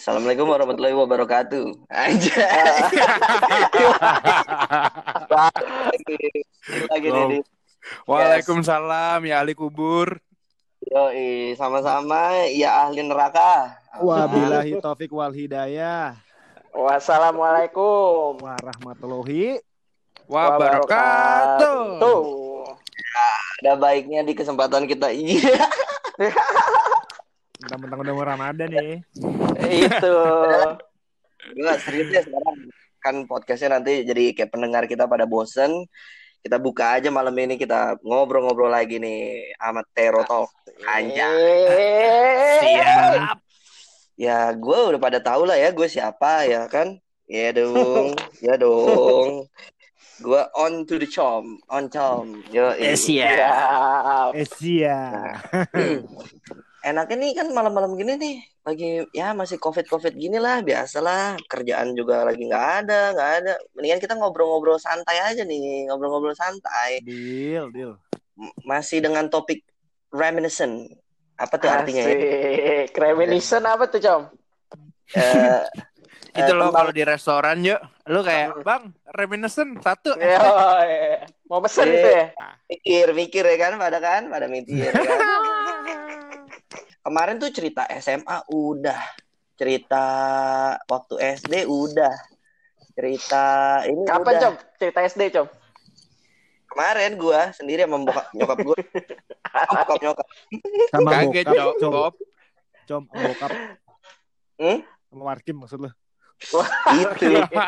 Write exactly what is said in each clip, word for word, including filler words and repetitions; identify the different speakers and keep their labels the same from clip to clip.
Speaker 1: Assalamualaikum warahmatullahi wabarakatuh. Aja. lagi lagi nih.
Speaker 2: Go.
Speaker 1: Di.
Speaker 2: Waalaikumsalam ya ahli kubur.
Speaker 1: Yoi, sama-sama ya ahli neraka.
Speaker 3: Wabillahi taufik wal hidayah.
Speaker 4: Wassalamualaikum
Speaker 3: warahmatullahi
Speaker 2: wabarakatuh.
Speaker 1: Ada baiknya di kesempatan kita iya.
Speaker 3: Mentang-mentang udah mau Ramadan nih.
Speaker 4: Itu.
Speaker 1: Enggak serius ya sekarang kan podcastnya nanti jadi kayak pendengar kita pada bosen. Kita buka aja malam ini kita ngobrol-ngobrol lagi nih sama Tero Talk. Anjay.
Speaker 2: Siap.
Speaker 1: Ya gue udah pada tahu lah ya gue siapa ya kan. Ya dong, ya dong. Gue on to the chom, on chom. Yo,
Speaker 2: Eh, siap.
Speaker 3: Eh sia.
Speaker 1: Enaknya nih kan malam-malam gini nih lagi ya masih covid-covid gini lah biasalah, kerjaan juga lagi nggak ada nggak ada mendingan kita ngobrol-ngobrol santai aja nih, ngobrol-ngobrol santai.
Speaker 3: Deal, deal.
Speaker 1: M- masih dengan topik reminiscent. Apa tuh artinya ya?
Speaker 4: Asik. Reminiscent apa tuh, Com?
Speaker 1: Eh,
Speaker 2: Itu
Speaker 1: eh,
Speaker 2: loh
Speaker 1: tentang-
Speaker 2: kalau di restoran yuk. Lu kayak, "Bang, reminiscent satu."
Speaker 4: Yo, eh. Mau pesen
Speaker 1: Eh.
Speaker 4: itu ya?
Speaker 1: mikir mikir ya kan pada kan pada mikir ya kan? Kemarin tuh cerita S M A udah, cerita waktu S D udah, cerita ini
Speaker 4: Kapan,
Speaker 1: udah.
Speaker 4: Com? Cerita S D, Com?
Speaker 1: Kemarin gua sendiri sama bokap nyokap gua. Sama bokap nyokap.
Speaker 3: Sama
Speaker 2: Kaget,
Speaker 3: bokap,
Speaker 2: Cok.
Speaker 3: com.
Speaker 2: Bob.
Speaker 3: Com, sama bokap.
Speaker 1: Hmm?
Speaker 3: Sama Warkim maksud lu.
Speaker 1: Itu.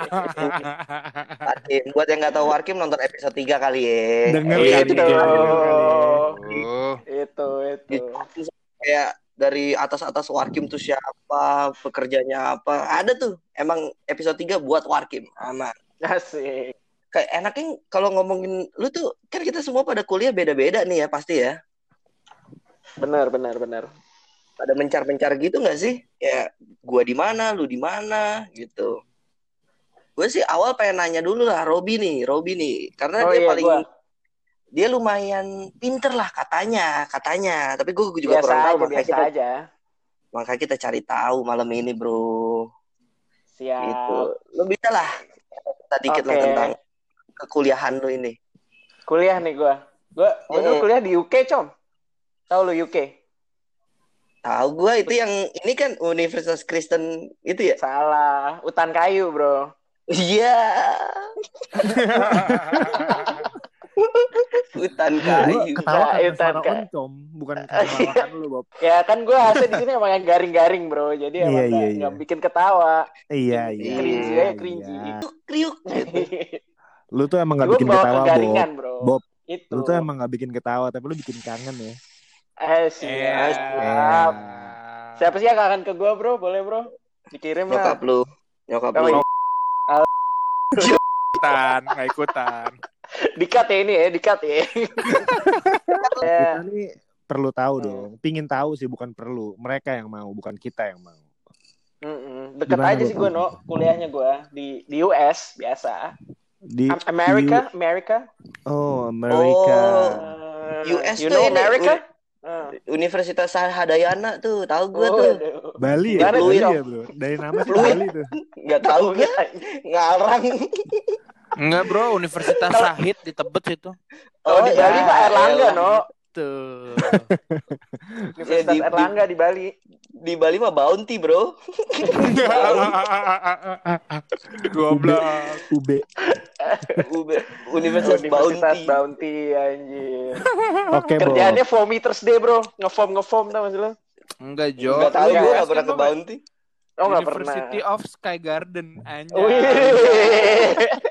Speaker 1: Warkim. Buat yang nggak tahu Warkim nonton episode tiga kali ya.
Speaker 3: Denger
Speaker 1: Eh,
Speaker 3: kali,
Speaker 1: itu.
Speaker 3: denger kali.
Speaker 2: Oh.
Speaker 4: Itu, itu.
Speaker 1: Kayak dari atas-atas Warkim tuh siapa, pekerjaannya apa. Ada tuh. Emang episode tiga buat Warkim. Aman.
Speaker 4: Asik.
Speaker 1: Kayak enaknya kalau ngomongin lu tuh kan kita semua pada kuliah beda-beda nih ya pasti ya.
Speaker 4: Benar, benar, benar.
Speaker 1: Pada mencar-mencar gitu nggak sih? Kayak gua di mana, lu di mana gitu. Gue sih awal pengen nanya dulu lah Robi nih, Robi nih, karena
Speaker 4: Oh
Speaker 1: dia
Speaker 4: iya,
Speaker 1: paling
Speaker 4: gua.
Speaker 1: dia lumayan pinter lah katanya, katanya. Tapi gue juga
Speaker 4: Biasa
Speaker 1: kurang tahu
Speaker 4: aja,
Speaker 1: makanya
Speaker 4: biasa
Speaker 1: kita
Speaker 4: aja.
Speaker 1: makanya kita cari tahu malam ini bro.
Speaker 4: Siap.
Speaker 1: Gitu. Lu bisa lah kita dikit lah
Speaker 4: Oke.
Speaker 1: tentang kekuliahan lu ini.
Speaker 4: Kuliah nih gua. Gua, gua dulu
Speaker 1: Mm-mm.
Speaker 4: kuliah di U K, Com. Tahu lu U K?
Speaker 1: Tahu gue itu yang ini kan Universitas Kristen itu ya?
Speaker 4: Salah. Utan kayu, bro.
Speaker 1: Iya. Hutan
Speaker 3: Lu
Speaker 1: kayu.
Speaker 3: ketawa
Speaker 4: Kayu,
Speaker 3: karena suara
Speaker 4: Kak.
Speaker 3: oncom, bukan kemarahan lu, Bob.
Speaker 4: Ya kan gue asli di sini emang yang garing-garing, bro. Jadi
Speaker 3: Iya,
Speaker 4: emang
Speaker 3: iya,
Speaker 4: nggak
Speaker 3: iya.
Speaker 4: nggak bikin ketawa.
Speaker 3: Iya, iya.
Speaker 4: Cringy
Speaker 1: Iya,
Speaker 4: aja, cringy.
Speaker 3: iya.
Speaker 1: Kriuk gitu.
Speaker 3: Lu tuh emang gak
Speaker 4: Gue
Speaker 3: bikin
Speaker 4: bawa
Speaker 3: ketawa, Bob.
Speaker 4: kegaringan, bro.
Speaker 3: Bob,
Speaker 4: Itu.
Speaker 3: lu tuh emang gak bikin ketawa, tapi lu bikin kangen ya.
Speaker 4: Eh,
Speaker 2: Eh.
Speaker 4: siap. siap. Siapa sih yang kangen ke gue, bro? Boleh, bro? Dikirim
Speaker 1: Nyokap
Speaker 4: lah.
Speaker 1: lu, nyokap
Speaker 4: Oh,
Speaker 1: lu.
Speaker 4: iya.
Speaker 2: Ikutan, nggak ikutan.
Speaker 4: Dikat ya ini ya, dikat ya.
Speaker 3: Kita nih perlu tahu dong. Pingin tahu sih, bukan perlu. Mereka yang mau, bukan kita yang mau.
Speaker 4: Mm-mm. Deket
Speaker 3: Gimana,
Speaker 4: aja sih
Speaker 3: Bob?
Speaker 4: gue, no. Kuliahnya gue di di U S biasa.
Speaker 3: Di
Speaker 4: Am- America, America.
Speaker 3: Oh, Amerika.
Speaker 4: Uh,
Speaker 1: U S
Speaker 4: you
Speaker 1: tuh
Speaker 4: know
Speaker 1: ini,
Speaker 4: America?
Speaker 1: Uni-
Speaker 4: Uh.
Speaker 1: Universitas Hadayana tuh, tahu gue
Speaker 4: Oh,
Speaker 1: tuh.
Speaker 4: aduh.
Speaker 3: Bali ya?
Speaker 4: Gimana
Speaker 3: Bali
Speaker 4: tuh,
Speaker 3: ya, bro? Dari nama sih
Speaker 1: Fluid.
Speaker 3: Bali tuh.
Speaker 1: Nggak tahu gue, ngarang.
Speaker 2: Enggak, bro, Universitas Syahid di Tebet situ.
Speaker 4: Oh, di Bali
Speaker 1: ya,
Speaker 4: Pak Erlangga,
Speaker 1: elah.
Speaker 4: no.
Speaker 2: Tuh.
Speaker 4: Universitas
Speaker 1: di- di-
Speaker 4: Erlangga di Bali.
Speaker 1: Di Bali mah Bounty, bro.
Speaker 2: Goblok.
Speaker 3: U B.
Speaker 1: U- Universitas
Speaker 4: Universitas
Speaker 1: Bounty.
Speaker 4: Bounty, anjir.
Speaker 3: Oke, Bob.
Speaker 4: Kerjaannya foamy Thursday, bro. Nge-foam nge-foam tau maksud lu?
Speaker 2: Enggak, Jo.
Speaker 1: Nggak tahu
Speaker 2: Lu
Speaker 1: gue
Speaker 2: U S
Speaker 1: nggak pernah
Speaker 2: kan
Speaker 1: ke
Speaker 2: lu
Speaker 1: Bounty.
Speaker 4: Oh, nggak pernah.
Speaker 2: University of Sky Garden, anjay.
Speaker 4: Wih.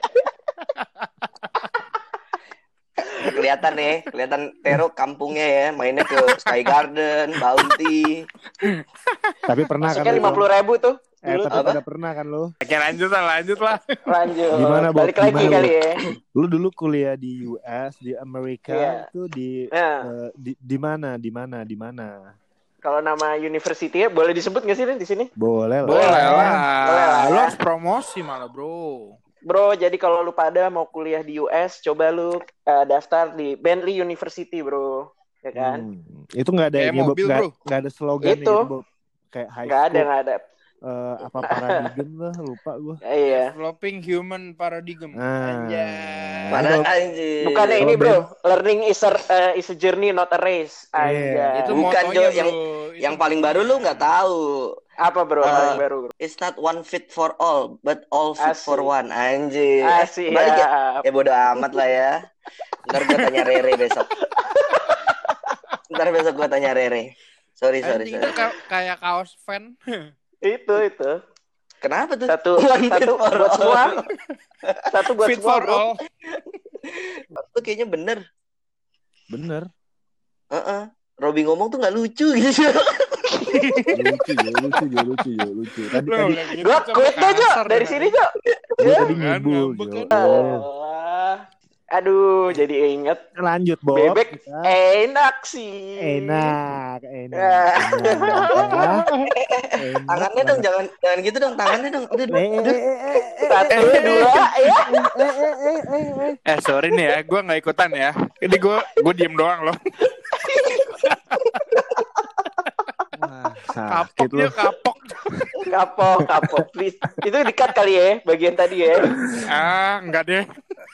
Speaker 1: Kelihatan nih, kelihatan Tero kampungnya ya, mainnya ke Sky Garden, Bounty.
Speaker 3: Tapi pernah kan
Speaker 4: Masuknya
Speaker 3: lu,
Speaker 4: lima puluh ribu tuh.
Speaker 3: Eh,
Speaker 4: Dulu
Speaker 3: tapi
Speaker 1: apa?
Speaker 3: pada pernah kan lu?
Speaker 2: Oke, lanjut lah, lanjut lah.
Speaker 4: lanjut.
Speaker 3: Gimana, Bob?
Speaker 4: Balik lagi
Speaker 3: Gimana,
Speaker 4: kali
Speaker 3: Bob?
Speaker 4: ya.
Speaker 3: Lu dulu kuliah di U S, di Amerika,
Speaker 4: Iya.
Speaker 3: itu di
Speaker 4: Nah,
Speaker 3: eh, di di mana? Di mana? Di mana?
Speaker 4: kalau nama university-nya boleh disebut nggak sih Rin, di sini?
Speaker 3: Boleh lah.
Speaker 2: Boleh
Speaker 4: Boleh
Speaker 2: lah.
Speaker 4: lah.
Speaker 2: Lu harus promosi malah, bro.
Speaker 4: Bro, jadi kalau lu pada mau kuliah di U S, coba lu uh, daftar di Bentley University, bro. Ya kan?
Speaker 3: Hmm. Itu nggak ada
Speaker 2: Kayak
Speaker 3: ini, Bob.
Speaker 2: mobil,
Speaker 3: Nggak
Speaker 2: bro.
Speaker 3: nggak ada slogan
Speaker 4: Itu.
Speaker 3: gitu, Bob. Kayak high
Speaker 4: Nggak ada,
Speaker 3: school.
Speaker 4: nggak ada.
Speaker 3: uh, apa paradigm lah, lupa gue.
Speaker 4: Iya.
Speaker 2: Developing human paradigm.
Speaker 3: Ah.
Speaker 2: Anjay.
Speaker 1: Pada
Speaker 3: Kalau-
Speaker 1: anjing.
Speaker 4: Bukannya
Speaker 3: Kalau
Speaker 4: ini bro,
Speaker 3: Ben-
Speaker 4: learning is a, uh, is a journey not a race.
Speaker 3: Iya.
Speaker 4: Anjay.
Speaker 2: Itu
Speaker 1: Bukan,
Speaker 2: motonya,
Speaker 1: Jo,
Speaker 2: bro.
Speaker 1: yang-
Speaker 2: Itu
Speaker 1: Yang paling baru lu nggak tahu.
Speaker 4: Apa bro,
Speaker 1: Ah.
Speaker 4: paling baru bro?
Speaker 1: It's not one fit for all, but all fit
Speaker 4: Asik.
Speaker 1: for one. Anjing.
Speaker 4: Asik
Speaker 1: Balik ya.
Speaker 4: ya.
Speaker 1: Ya bodo amat lah ya. Ntar gue tanya Rere besok. Ntar besok gue tanya Rere. Sorry, sorry,
Speaker 2: Anjing itu
Speaker 1: sorry.
Speaker 2: ka- kayak kaos fan.
Speaker 4: Itu itu.
Speaker 1: Kenapa tuh?
Speaker 4: Satu
Speaker 1: One fit
Speaker 4: satu
Speaker 1: for
Speaker 4: buat
Speaker 1: all.
Speaker 4: semua. Satu buat
Speaker 2: Fit
Speaker 4: semua
Speaker 2: for
Speaker 4: bro.
Speaker 2: all.
Speaker 1: Itu kayaknya bener.
Speaker 3: Bener.
Speaker 1: Heeh. Robby ngomong tuh nggak lucu gitu.
Speaker 3: lucu ya, lucu ya, lucu ya, lucu. Tadi
Speaker 2: Lu
Speaker 3: tadi
Speaker 2: nggak gitu,
Speaker 4: Gua
Speaker 2: sama
Speaker 4: quit deh Jo,
Speaker 2: kasar
Speaker 4: dari
Speaker 2: ya.
Speaker 4: sini Jo.
Speaker 3: gue tadi
Speaker 2: Kan,
Speaker 3: ngibul.
Speaker 2: ngambek
Speaker 3: Jo.
Speaker 2: kan.
Speaker 3: Oh.
Speaker 4: Alah. Aduh, jadi inget
Speaker 3: Lanjut Bob.
Speaker 4: bebek
Speaker 3: Kita.
Speaker 4: enak sih.
Speaker 3: Enak, enak.
Speaker 4: Ya.
Speaker 3: enak. Enak
Speaker 1: Tangannya dong,
Speaker 3: banget.
Speaker 1: jangan jangan gitu dong, tangannya dong. Aduh,
Speaker 3: Eh, eh, eh, eh, eh,
Speaker 4: Satu,
Speaker 3: eh,
Speaker 4: dua, ya.
Speaker 3: eh, eh, eh, eh, eh.
Speaker 2: Eh sorry nih ya, gue nggak ikutan ya. Ini gue gue diem doang loh.
Speaker 3: Wah,
Speaker 2: Kapok
Speaker 3: sakit lu.
Speaker 2: dia kapok.
Speaker 4: Kapok, kapok. Please. Itu di-cut kali ya, bagian tadi ya.
Speaker 2: Ah enggak deh.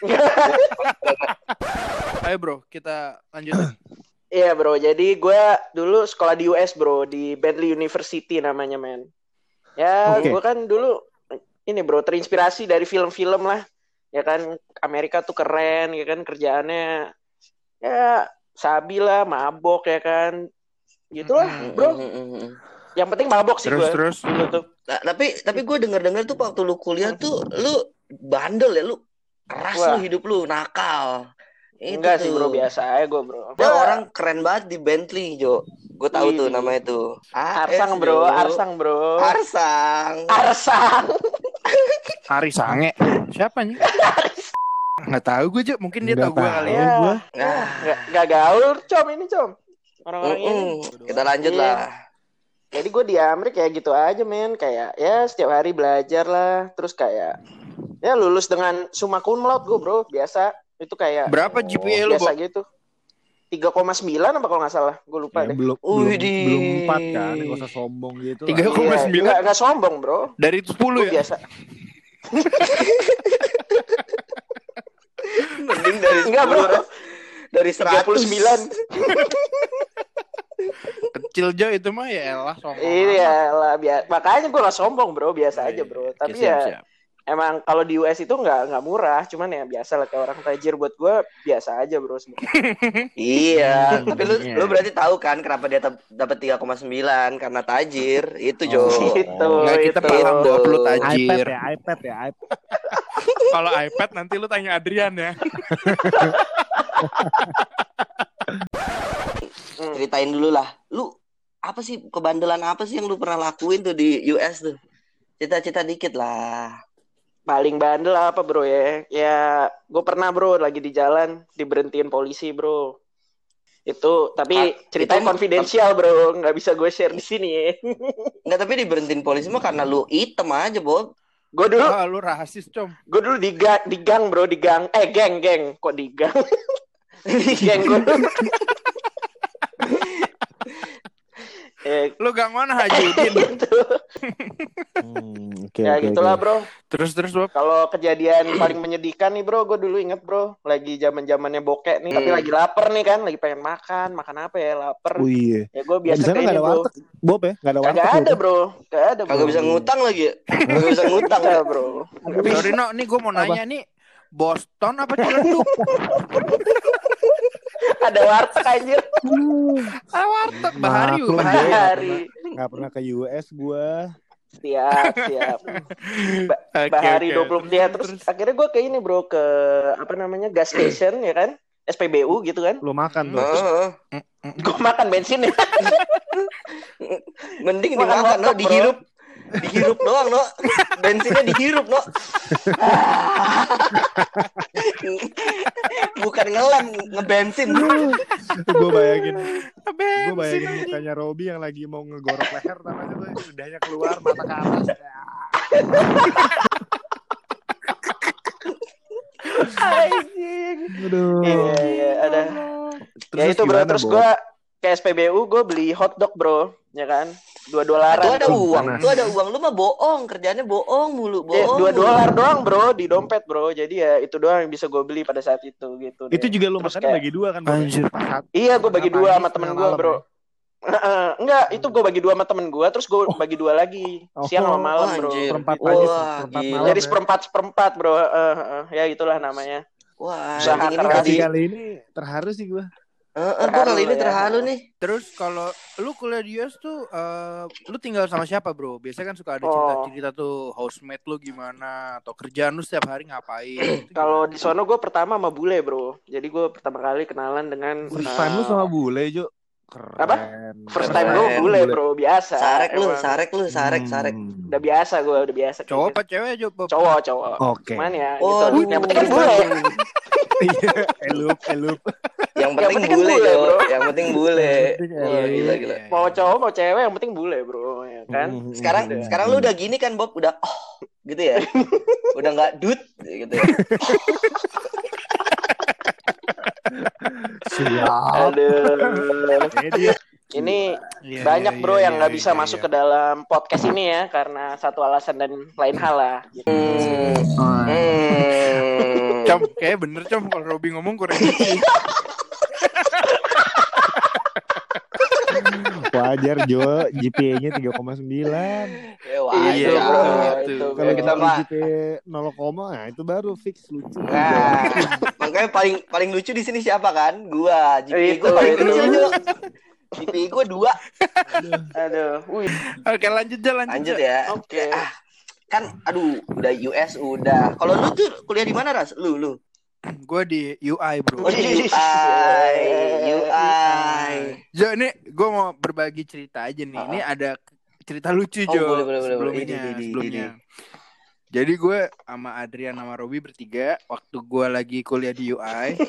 Speaker 2: Ayo bro, kita lanjut.
Speaker 4: Iya bro, jadi gue dulu sekolah di U S bro, di Bentley University namanya men. Ya,
Speaker 3: Oke.
Speaker 4: gue kan dulu ini bro, terinspirasi dari film-film lah. Ya kan, Amerika tuh keren, ya kan kerjaannya ya sabi lah, mabok ya kan. Gitulah bro. Yang penting mabok sih
Speaker 2: Terus
Speaker 4: gue
Speaker 2: terus.
Speaker 4: dulu tuh.
Speaker 1: Nah, tapi tapi gue denger-dengar tuh waktu lu kuliah tuh lu bandel ya, lu keras
Speaker 4: Wah.
Speaker 1: lu hidup lu, nakal. Itu
Speaker 4: Enggak sih
Speaker 1: tuh.
Speaker 4: bro, biasa aja gue bro.
Speaker 1: Ada orang keren banget di Bentley, Jo. Gue tahu tuh
Speaker 4: Wih.
Speaker 1: namanya tuh.
Speaker 4: Arsang
Speaker 1: A S,
Speaker 4: bro,
Speaker 1: Jo.
Speaker 4: Arsang bro.
Speaker 1: Arsang.
Speaker 4: Arsang.
Speaker 2: Hari Sange. Siapa nih? Nggak tahu gue aja, mungkin dia
Speaker 3: Nggak
Speaker 2: tahu gue kali ya.
Speaker 4: Ya.
Speaker 3: gua.
Speaker 1: Nah,
Speaker 4: Nggak, nggak gaul com ini com. Orang-orang ini.
Speaker 1: mm-mm. Kita lanjut
Speaker 4: Iya.
Speaker 1: lah.
Speaker 4: Jadi gue di Amerika kayak gitu aja men. Kayak ya setiap hari belajar lah. Terus kayak ya lulus dengan summa cum laude gue bro. Biasa. Itu kayak
Speaker 2: Berapa G P A lu,
Speaker 4: biasa
Speaker 2: Bo?
Speaker 4: gitu. tiga koma sembilan apa kalau nggak salah. Gue lupa
Speaker 3: Ya,
Speaker 4: deh.
Speaker 3: belum belum
Speaker 1: Widih.
Speaker 3: belum empat kan, nggak usah sombong gitu.
Speaker 2: Tiga
Speaker 3: lah.
Speaker 2: koma
Speaker 4: Iya,
Speaker 2: sembilan.
Speaker 4: nggak, nggak sombong bro.
Speaker 2: Dari sepuluh
Speaker 4: Gue
Speaker 2: ya?
Speaker 4: biasa.
Speaker 1: Mending dari
Speaker 4: Enggak bro.
Speaker 1: sepuluh, dari
Speaker 4: tiga puluh
Speaker 1: seratus.
Speaker 4: sembilan.
Speaker 2: Kecil Jo itu mah ya elah sombong.
Speaker 4: Iya lah. Biar... Makanya gue nggak sombong bro. Biasa
Speaker 2: amat.
Speaker 4: aja bro.
Speaker 2: Oke,
Speaker 4: Tapi
Speaker 2: siap,
Speaker 4: ya
Speaker 2: siap.
Speaker 4: emang kalau di U S itu nggak nggak murah. Cuman ya biasa lah kayak orang tajir buat gue biasa aja bro.
Speaker 1: Iya,
Speaker 2: Hmm,
Speaker 1: tapi lu
Speaker 2: iya.
Speaker 1: lu berarti tahu kan kenapa dia tap- dapat tiga koma sembilan karena tajir. Itu Jo.
Speaker 3: Oh.
Speaker 4: Gitu.
Speaker 2: Nggak, kita
Speaker 4: itu.
Speaker 2: paham Bob, lu
Speaker 3: iPad
Speaker 2: tajir.
Speaker 3: ya, iPad ya, iPad.
Speaker 2: Kalau iPad nanti lu tanya Adrian ya.
Speaker 4: Hmm.
Speaker 1: Ceritain dulu lah. Lu apa sih kebandelan apa sih yang lu pernah lakuin tuh di U S tuh? Cita-cita dikit lah.
Speaker 4: Paling bandel apa bro ya? Ya gue pernah bro lagi di jalan diberhentiin polisi bro. Itu tapi
Speaker 1: Ah,
Speaker 4: ceritanya
Speaker 1: itu-
Speaker 4: konfidensial bro, nggak bisa gue share di sini ya.
Speaker 1: Enggak, tapi diberhentiin polisi mah karena lu item aja, Bob.
Speaker 4: Gue dulu,
Speaker 2: Ah, lu rasis, Com.
Speaker 4: gue dulu di gang, di gang bro, di gang, eh geng geng, kok di gang? Di geng gue. eh,
Speaker 2: Lu gang mana Haji Udin?
Speaker 4: gitu.
Speaker 3: Hmm, oke,
Speaker 4: Ya
Speaker 3: oke,
Speaker 4: gitulah
Speaker 3: oke.
Speaker 4: bro.
Speaker 2: Terus terus Bob.
Speaker 4: Kalau kejadian paling menyedihkan nih bro, gue dulu inget bro, lagi zaman zamannya bokek nih, tapi
Speaker 1: Hmm.
Speaker 4: lagi lapar nih kan, lagi pengen makan, makan apa ya, lapar.
Speaker 3: Oh iya.
Speaker 4: Ya gue
Speaker 3: Ya,
Speaker 4: biasa
Speaker 3: di sana
Speaker 4: kayak
Speaker 3: nggak
Speaker 4: ini
Speaker 3: ada
Speaker 4: bro.
Speaker 3: warteg, Bob ya? Nggak ada warteg.
Speaker 4: Kagak
Speaker 3: ya,
Speaker 4: ada
Speaker 3: Bob?
Speaker 4: bro, kagak ada bro.
Speaker 1: Kagak bisa ngutang lagi ya? Kagak bisa ngutang
Speaker 4: Bisa
Speaker 1: ya?
Speaker 4: bro.
Speaker 2: Sorry No, nih gue mau nanya nih. Boston apa Ciledug?
Speaker 4: Ada warteg anjir.
Speaker 2: Ah, warteg Bahari,
Speaker 3: Maklum,
Speaker 2: Bahari.
Speaker 3: Bob.
Speaker 4: Bahari.
Speaker 3: Nggak pernah ke U S gua.
Speaker 4: Siap, siap. Ba-
Speaker 2: Oke,
Speaker 4: Bahari
Speaker 2: oke.
Speaker 4: dua puluh dia terus, akhirnya gue ke ini bro, ke apa namanya gas station ya kan, S P B U gitu kan.
Speaker 3: Lu makan tuh.
Speaker 1: Heeh.
Speaker 4: Gue makan bensin ya.
Speaker 1: Mending
Speaker 4: Makan
Speaker 1: dimakan, no,
Speaker 4: warteg, bro.
Speaker 1: dihirup. Dihirup doang, no. Bensinnya dihirup, no. Bukan ngelem, ngebensin.
Speaker 3: Gue bayangin, gue
Speaker 2: Bensin
Speaker 3: bayangin
Speaker 2: aja.
Speaker 3: mukanya Robby yang lagi mau ngegorok leher, namanya tuh lidahnya keluar, mata ke atas.
Speaker 4: Anjing.
Speaker 3: Aduh.
Speaker 4: Iya, iya, ada.
Speaker 3: Terus
Speaker 4: Ya itu bro,
Speaker 3: gimana,
Speaker 4: terus
Speaker 3: Bob?
Speaker 4: gue ke S P B U gue beli hotdog bro, ya kan, dua dolaran.
Speaker 1: Itu ada
Speaker 4: bro.
Speaker 1: uang, itu ada uang. Lu mah bohong, kerjanya bohong mulu,
Speaker 4: Ya,
Speaker 1: bohong.
Speaker 4: dua
Speaker 1: mulu.
Speaker 4: dolar doang bro di dompet bro, jadi ya itu doang yang bisa gue beli pada saat itu gitu.
Speaker 3: Itu
Speaker 4: deh.
Speaker 3: juga lu
Speaker 4: Terus
Speaker 3: makan
Speaker 4: kayak,
Speaker 3: bagi dua kan, Bro?
Speaker 2: Anjir.
Speaker 4: iya gue bagi
Speaker 3: Setengah
Speaker 4: dua
Speaker 3: pagi,
Speaker 4: sama temen
Speaker 3: setengah
Speaker 4: gue
Speaker 3: malam
Speaker 4: bro.
Speaker 3: ya?
Speaker 4: Heeh, enggak, itu gue bagi dua sama temen gue, terus gue bagi dua lagi,
Speaker 3: Oh.
Speaker 4: siang sama malam bro.
Speaker 1: Anjir.
Speaker 3: Seperempat
Speaker 1: Wah,
Speaker 3: pagi, seperempat
Speaker 1: gila.
Speaker 3: malam.
Speaker 4: Jadi
Speaker 3: ya.
Speaker 4: seperempat seperempat bro, uh, uh, ya itulah namanya.
Speaker 1: Wah,
Speaker 4: Usaha
Speaker 1: anjing ini
Speaker 4: keras.
Speaker 1: jadi
Speaker 3: Tapi kali ini terharu sih gue.
Speaker 1: Heeh, gua kali ini
Speaker 4: Terharu ya.
Speaker 1: terharu nih.
Speaker 2: Terus kalau lu kuliah di U S tuh uh, lu tinggal sama siapa, Bro? Biasanya kan suka ada
Speaker 4: Oh.
Speaker 2: cerita-cerita tuh housemate lu gimana atau kerjaan lu setiap hari ngapain. Itu
Speaker 4: Kalau
Speaker 2: gimana?
Speaker 4: di sono gue pertama sama bule bro, jadi gue pertama kali kenalan dengan
Speaker 3: First
Speaker 4: uh,
Speaker 3: time lu sama bule, Jo. Keren.
Speaker 4: Apa? First time
Speaker 1: Keren.
Speaker 4: gue bule bro, biasa.
Speaker 1: Sarek lu,
Speaker 4: emang.
Speaker 1: sarek lu, sarek,
Speaker 3: Hmm.
Speaker 1: sarek.
Speaker 4: Udah biasa gue, udah biasa. kayak
Speaker 2: Cowok
Speaker 4: gitu.
Speaker 2: apa cewek aja, Bob?
Speaker 4: Cowok, cowok.
Speaker 3: Oke.
Speaker 4: Cuman ya
Speaker 1: Oh,
Speaker 4: gitu. Yang penting kan bule.
Speaker 3: Iya, elup, elup.
Speaker 1: Yang
Speaker 4: Yang
Speaker 1: penting
Speaker 4: penting kan
Speaker 1: bule,
Speaker 4: bule,
Speaker 1: Jo.
Speaker 4: bro.
Speaker 1: Yang penting bule.
Speaker 3: Yang penting
Speaker 1: Iya,
Speaker 3: elup.
Speaker 1: gila, gila.
Speaker 4: Mau cowok mau cewek yang penting bule bro, ya kan.
Speaker 3: Hmm.
Speaker 1: Sekarang
Speaker 3: Hmm.
Speaker 1: sekarang lu udah gini kan, Bob? Udah oh, gitu ya. Udah enggak dut gitu ya.
Speaker 3: Siap.
Speaker 4: Aduh.
Speaker 3: Ini dia.
Speaker 4: Ini
Speaker 2: Iya,
Speaker 4: banyak
Speaker 2: iya,
Speaker 4: bro
Speaker 2: iya,
Speaker 4: yang
Speaker 2: iya,
Speaker 4: nggak bisa
Speaker 2: iya,
Speaker 4: masuk
Speaker 2: iya.
Speaker 4: ke dalam podcast ini ya karena satu alasan dan lain hal lah. Gitu.
Speaker 1: Hmm.
Speaker 2: Hmm.
Speaker 1: Hmm.
Speaker 2: Com, kayak bener Com kalau Robby ngomong kurang lucu.
Speaker 3: Wajar, Jo. G P A-nya tiga koma sembilan.
Speaker 1: Ya, wah,
Speaker 4: Itu
Speaker 2: Iya,
Speaker 4: bro,
Speaker 2: itu.
Speaker 4: itu.
Speaker 3: Kalau
Speaker 1: kita
Speaker 3: kita
Speaker 1: mah-
Speaker 3: G P A nol, nah itu baru fix lucu.
Speaker 1: Nah, makanya paling paling lucu di sini siapa kan? Gua. G P A
Speaker 4: Itu,
Speaker 1: gua paling
Speaker 4: itu.
Speaker 1: kecil, Jo. G P A gua dua.
Speaker 4: Aduh, wih.
Speaker 2: Oke, lanjut aja, lanjut.
Speaker 1: Lanjut
Speaker 2: aja.
Speaker 1: ya.
Speaker 4: Oke.
Speaker 1: Ah, kan aduh, udah U S udah. Kalau lu tuh kuliah di mana, Ras? Lu, lu.
Speaker 2: Gue di U I, Bro.
Speaker 1: Oh, di U I. U I.
Speaker 2: Jo, ini gue mau berbagi cerita aja nih. Ini ada cerita lucu,
Speaker 1: Oh,
Speaker 2: Jo.
Speaker 1: boleh, boleh, boleh, boleh.
Speaker 2: Sebelumnya,
Speaker 1: Ini, ini,
Speaker 2: sebelumnya.
Speaker 1: ini.
Speaker 2: Jadi gue sama Adrian sama Robby bertiga waktu gue lagi kuliah di U I.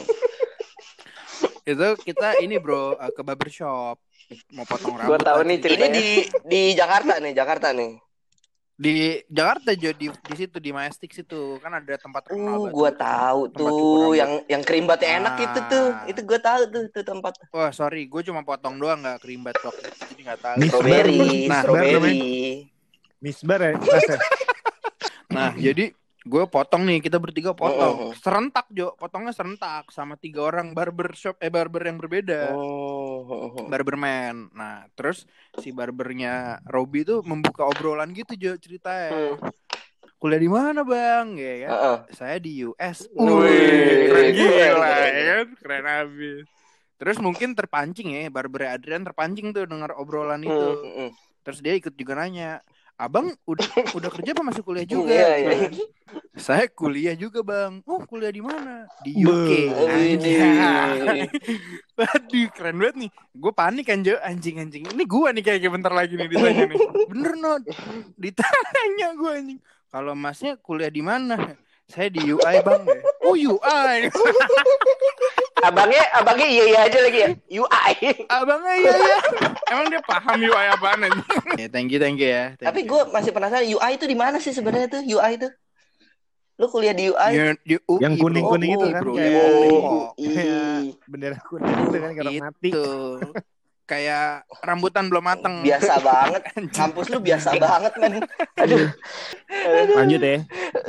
Speaker 2: Itu kita ini, Bro, uh, ke barbershop mau potong
Speaker 4: Gua
Speaker 2: rambut.
Speaker 4: tahu
Speaker 2: lah
Speaker 4: nih
Speaker 2: ceritanya.
Speaker 1: Ini di di Jakarta nih, Jakarta nih.
Speaker 2: di Jakarta, Jo, di di situ di Majestic situ kan ada tempat terkenal.
Speaker 1: Uh,
Speaker 2: banget
Speaker 1: gua
Speaker 2: tuh.
Speaker 1: tahu
Speaker 2: Tempat cukur
Speaker 1: tuh
Speaker 2: rambut.
Speaker 1: yang yang kerimbatnya enak
Speaker 2: Ah.
Speaker 1: itu tuh. Itu gua tahu tuh tuh tempat.
Speaker 2: Wah, sorry, gue cuma potong doang, nggak kerimbat waktu itu, jadi nggak tahu.
Speaker 3: Miss
Speaker 1: Strawberry,
Speaker 2: Nah,
Speaker 1: strawberry.
Speaker 3: Misbar ya, Ras ya?
Speaker 2: Nah, jadi gue potong nih, kita bertiga potong.
Speaker 1: Oh.
Speaker 2: Serentak, Jo. Potongnya serentak sama tiga orang barber shop eh barber yang berbeda.
Speaker 1: Oh.
Speaker 2: Barberman. Nah, terus si barbernya Robby tuh membuka obrolan gitu, Jo, ceritanya.
Speaker 4: Hmm.
Speaker 2: Kuliah di mana, Bang? Ya kan?
Speaker 1: Heeh.
Speaker 2: Saya di U S.
Speaker 1: Wih,
Speaker 2: Wih, keren gila
Speaker 1: keren,
Speaker 2: ya
Speaker 1: keren.
Speaker 2: kan? Keren abis. Terus mungkin terpancing ya, barber Adrian terpancing tuh dengar obrolan itu.
Speaker 1: Mm-mm.
Speaker 2: Terus dia ikut juga nanya, Abang udah udah kerja apa masih kuliah juga?
Speaker 1: Iya, iya.
Speaker 2: Saya kuliah juga, Bang. Oh, kuliah di mana? Di U K.
Speaker 3: Be-
Speaker 2: Anjay. Aduh, keren banget nih. Gue panik kan, Jo. Anjing-anjing. Ini gue nih kayak bentar lagi nih ditanya nih. Bener, Not. Ditanya gue anjing. Kalau masnya kuliah di mana? Saya di U I, Bang. Oh, U I.
Speaker 4: Abangnya, abangnya iya iya aja lagi ya. U I.
Speaker 2: Abangnya iya ya. Emang dia paham U I apaan aja? Ya, thank you, thank you ya. Thank
Speaker 1: Tapi
Speaker 2: you.
Speaker 1: gue masih penasaran U I itu di mana sih sebenarnya tuh U I itu? Lu kuliah di U I?
Speaker 2: Ya, di U I,
Speaker 3: Yang kuning-kuning
Speaker 2: bro.
Speaker 3: itu
Speaker 2: U I,
Speaker 3: kan
Speaker 2: bro.
Speaker 3: kayak-
Speaker 2: Di Depok.
Speaker 1: Oh,
Speaker 3: Kayak bendera kuning itu kan kayak orang mati.
Speaker 2: Itu kayak rambutan belum mateng.
Speaker 1: Biasa banget. Kampus lu biasa banget, men.
Speaker 4: Aduh.
Speaker 3: Lanjut ya.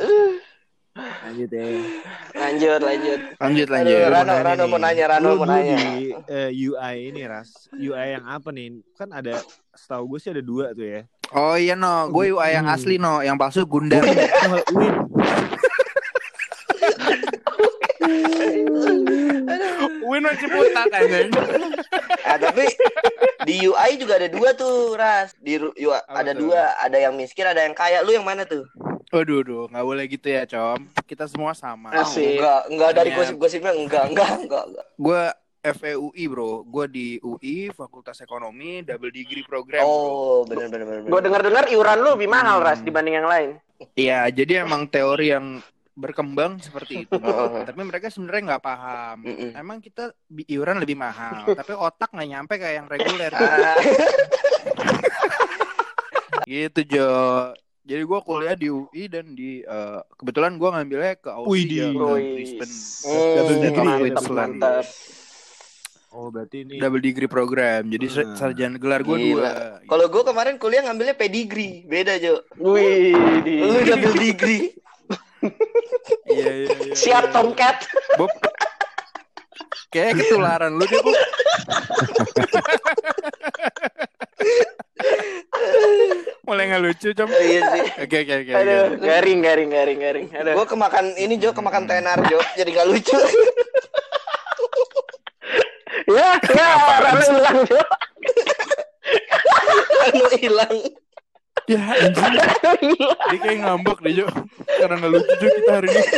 Speaker 3: Lanjut ya.
Speaker 4: Lanjut, lanjut.
Speaker 2: Lanjut
Speaker 1: Aduh,
Speaker 2: lanjut.
Speaker 1: Rano, Rano mau nanya, Rano
Speaker 3: Lu
Speaker 1: mau
Speaker 3: dulu
Speaker 1: nanya.
Speaker 3: di eh, U I ini, Ras. U I yang apa nih? Kan ada, setahu gue sih ada dua tuh ya.
Speaker 2: Oh iya, no, gue U I yang
Speaker 3: Hmm.
Speaker 2: asli, no, yang palsu Gundam.
Speaker 3: Oh, Win.
Speaker 2: Win masih putar kayaknya.
Speaker 1: Ah, tapi di U I juga ada dua tuh, Ras. Di Ru- U I
Speaker 2: Apa
Speaker 1: ada
Speaker 2: tuh?
Speaker 1: dua, ada yang miskin, ada yang kaya. Lu yang mana tuh?
Speaker 2: Waduh, duh, nggak boleh gitu ya, Com. Kita semua sama.
Speaker 1: Ah,
Speaker 4: Asik.
Speaker 1: enggak, enggak dari
Speaker 2: Ternyata.
Speaker 1: gosip-gosipnya enggak, enggak, enggak, enggak.
Speaker 2: Gue F E U I, bro. Gue di U I, Fakultas Ekonomi, double degree program. Bro.
Speaker 1: Oh, benar benar benar.
Speaker 4: Gue dengar-dengar iuran lu lebih mahal
Speaker 2: Hmm.
Speaker 4: Ras dibanding yang lain.
Speaker 2: Iya, jadi emang teori yang berkembang seperti itu.
Speaker 1: Heeh.
Speaker 2: Tapi mereka sebenarnya nggak paham.
Speaker 1: Mm-mm.
Speaker 2: Emang kita bi- iuran lebih mahal, tapi otak nggak nyampe kayak yang reguler.
Speaker 1: Ah,
Speaker 2: Gitu, Jo. Jadi gue kuliah di U I dan di eh, kebetulan gue ngambilnya ke
Speaker 3: Wih,
Speaker 2: Aussie
Speaker 3: di-
Speaker 2: ya, ke
Speaker 4: Wih.
Speaker 2: Brisbane.
Speaker 1: Hmm,
Speaker 3: Double degree,
Speaker 2: Mantap,
Speaker 3: double
Speaker 2: mantap.
Speaker 3: degree. Oh, berarti ini
Speaker 2: double degree program. Jadi
Speaker 3: Hmm.
Speaker 2: sarjana gelar gue
Speaker 1: Gila.
Speaker 2: dua.
Speaker 1: Kalau gue kemarin kuliah ngambilnya pedigree, beda Jo.
Speaker 4: Wih,
Speaker 1: Lu double degree.
Speaker 2: Iya iya iya.
Speaker 4: siap
Speaker 2: iya.
Speaker 4: Tomcat.
Speaker 2: Bob. Kayak ketularan lu dia, Bob. Mulai nggak lucu, Com.
Speaker 1: Oh, iya sih.
Speaker 2: Oke oke oke.
Speaker 4: Aduh, garing garing garing garing. Aduh.
Speaker 1: Gue kemakan ini Jo, kemakan tenar Jo, jadi nggak lucu.
Speaker 4: Ya, ya, Rano hilang Jo.
Speaker 1: Anu hilang.
Speaker 2: Ya anjing. Dia kayak ngambek deh, Jo. Karena nggak lucu Jo kita hari ini.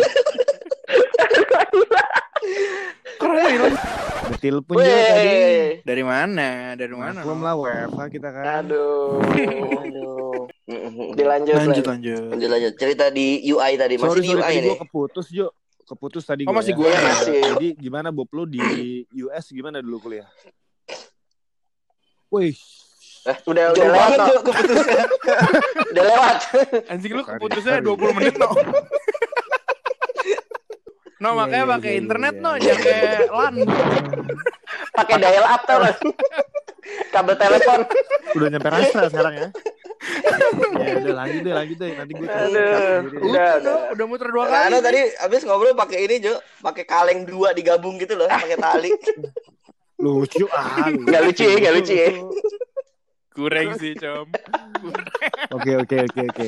Speaker 2: Karena hilang.
Speaker 3: betil pun juga tadi.
Speaker 4: Weh.
Speaker 2: Dari mana? Dari mana?
Speaker 3: Belum lah W F H kita kan.
Speaker 4: Aduh.
Speaker 1: Aduh.
Speaker 4: Dilanjut
Speaker 2: Lanjut
Speaker 4: lah.
Speaker 2: lanjut.
Speaker 1: Lanjut lanjut. Cerita di U I tadi, masih
Speaker 3: Sorry
Speaker 1: di
Speaker 3: sorry
Speaker 1: U I
Speaker 3: tadi
Speaker 1: nih.
Speaker 3: gue keputus Jo. Keputus tadi
Speaker 2: Oh,
Speaker 3: gua
Speaker 2: masih
Speaker 3: ya.
Speaker 2: gue
Speaker 4: ya? Masih.
Speaker 3: Jadi gimana Bob lu di U S gimana dulu kuliah? Wih,
Speaker 4: Eh, udah udah
Speaker 1: Jauh
Speaker 4: lewat
Speaker 1: banget
Speaker 4: no.
Speaker 1: Jo keputusnya.
Speaker 4: Udah lewat.
Speaker 2: Anjing lu
Speaker 3: Sorry,
Speaker 2: keputusnya
Speaker 3: sorry.
Speaker 2: dua puluh menit, No. No,
Speaker 3: Iya,
Speaker 2: makanya
Speaker 3: iya,
Speaker 2: pakai
Speaker 3: iya,
Speaker 2: internet,
Speaker 3: iya,
Speaker 2: No.
Speaker 3: iya.
Speaker 2: Jangan kayak LAN.
Speaker 4: Pakai dial up tau lo. Kabel telepon.
Speaker 3: udah nyampe rasa sekarang ya. Ya udah lanjut deh, lanjut deh. Nanti gue
Speaker 4: Aduh.
Speaker 3: sendiri.
Speaker 4: Udah,
Speaker 2: Udah, No.
Speaker 4: udah.
Speaker 2: Udah muter dua
Speaker 1: Nah,
Speaker 2: kali.
Speaker 1: Anu tadi abis ngobrol pakai ini Jo, pakai kaleng dua digabung gitu loh, pakai tali.
Speaker 3: Lucu ah.
Speaker 4: Nggak lucu ya, nggak lucu ya.
Speaker 2: Kurang sih, Com.
Speaker 3: Oke oke oke oke.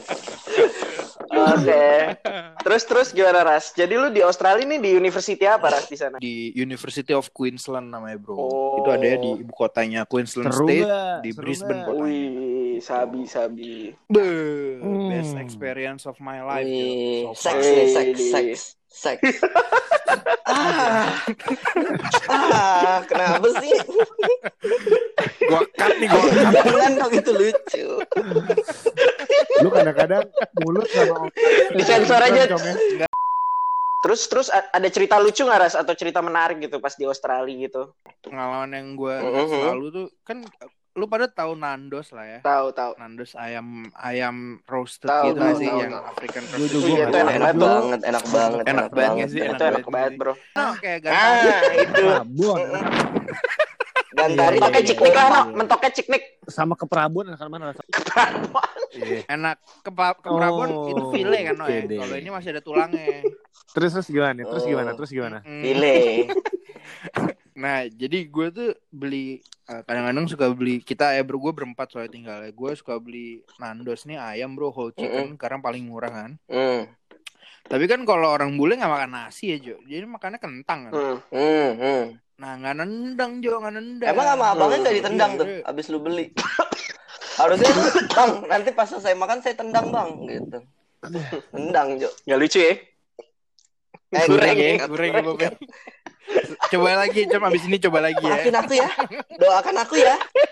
Speaker 4: Oke. Terus terus gimana Ras? Jadi lu di Australia nih di university apa Ras di sana?
Speaker 2: Di University of Queensland namanya, Bro.
Speaker 4: Oh.
Speaker 2: Itu ada ya di ibu kotanya Queensland
Speaker 3: Seru
Speaker 2: State,
Speaker 3: nggak?
Speaker 2: di
Speaker 3: Seru
Speaker 2: Brisbane
Speaker 3: nggak?
Speaker 2: kotanya.
Speaker 4: Wih, sabi sabi.
Speaker 2: Beuh,
Speaker 3: Hmm.
Speaker 2: best experience of my life,
Speaker 1: Wih,
Speaker 2: Jo. So far.
Speaker 1: seks nih, seks, seks, seks. ah, ah, kenapa sih?
Speaker 2: Gua cut nih, gua cut.
Speaker 1: Jangan dong, itu lucu.
Speaker 3: Lu kadang-kadang mulut sama
Speaker 4: Disensor aja.
Speaker 3: Com, ya.
Speaker 4: Terus terus a- ada cerita lucu nggak Ras atau cerita menarik gitu pas di Australia gitu?
Speaker 2: Pengalaman yang gue
Speaker 1: Mhm.
Speaker 2: selalu tuh kan lu pada tahu Nandos lah ya.
Speaker 4: Tahu tahu.
Speaker 2: Nandos ayam ayam roasted
Speaker 4: Tahu,
Speaker 2: gitu
Speaker 4: tahu,
Speaker 2: sih
Speaker 4: tahu,
Speaker 2: yang
Speaker 4: tahu.
Speaker 2: African
Speaker 3: Gua
Speaker 2: roasted.
Speaker 3: juga
Speaker 4: Iya,
Speaker 3: nggak
Speaker 4: itu
Speaker 3: tahu.
Speaker 4: enak
Speaker 1: Enak
Speaker 4: banget tuh.
Speaker 1: banget, enak banget,
Speaker 2: Enak banget nggak sih?
Speaker 4: Itu
Speaker 2: Enak
Speaker 4: enak
Speaker 2: banget
Speaker 4: banget
Speaker 2: sih.
Speaker 4: bro.
Speaker 2: Nah, kayak gantari.
Speaker 1: Ah, itu.
Speaker 3: Prabon.
Speaker 1: Gantari
Speaker 3: Iya,
Speaker 4: Mentoknya
Speaker 3: iya,
Speaker 4: ciknik
Speaker 3: iya,
Speaker 4: lah, no.
Speaker 3: iya.
Speaker 4: Mentoknya ciknik.
Speaker 3: Sama ke Prabon akan mana rasa? Iya.
Speaker 2: Enak ke ke Prabon
Speaker 3: Oh,
Speaker 2: itu file kan, no
Speaker 3: oke
Speaker 2: ya.
Speaker 3: deh.
Speaker 2: Kalau ini masih ada tulangnya.
Speaker 3: Terus terus gimana? Terus
Speaker 1: Oh.
Speaker 3: gimana? Terus gimana?
Speaker 2: Mm.
Speaker 1: File.
Speaker 2: Nah, jadi gue tuh beli uh, kadang-kadang suka beli kita ya bro, gue berempat soalnya tinggalnya. Gue suka beli Nandos nih ayam bro whole chicken karena paling murah kan.
Speaker 1: Hmm,
Speaker 2: Tapi kan kalau orang bule nggak makan nasi ya Jo, jadi makannya kentang kan.
Speaker 4: Hmm.
Speaker 1: hmm, hmm.
Speaker 2: Nah nggak nendang Jo, nggak nendang.
Speaker 1: Emang sama abangnya nggak
Speaker 2: Iya,
Speaker 1: ditendang tuh,
Speaker 2: iya.
Speaker 1: abis lu beli. Harusnya bang, nanti pas saya makan saya tendang bang, gitu. Tendang Jo.
Speaker 4: Nggak lucu ya?
Speaker 1: Eh,
Speaker 2: Goreng
Speaker 1: goreng,
Speaker 2: ya, goreng ya Bob ya. Coba lagi, coba abis ini coba lagi ya.
Speaker 1: Maafin aku ya, doakan aku ya.